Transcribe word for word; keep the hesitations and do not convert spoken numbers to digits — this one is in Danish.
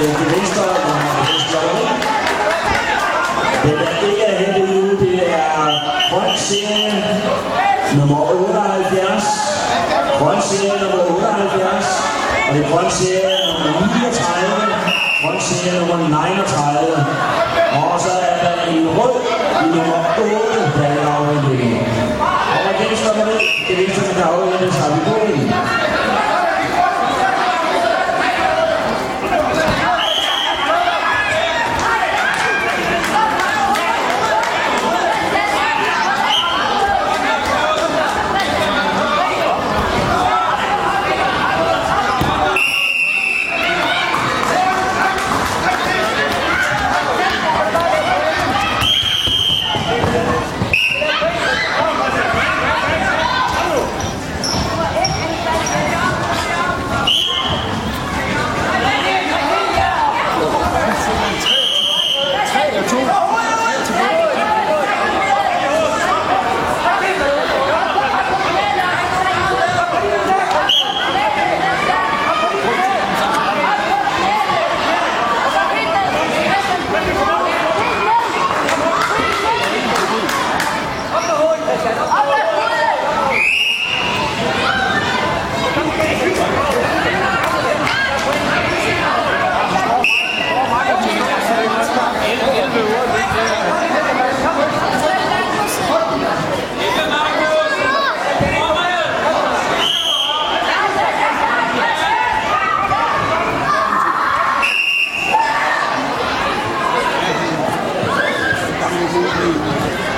til venstre, den der ikke er hentet ud, det er grøn serie nummer otteoghalvfjerds. Grøn serie nummer otteoghalvfjerds. Og det er grøn serie nummer niogtredive. Grøn serie nummer niogtredive. Og så er der en rød i nummer otte, der er afhængig. Og igen står der ved, det venstre med der afhængig, så har vi på den. Thank you.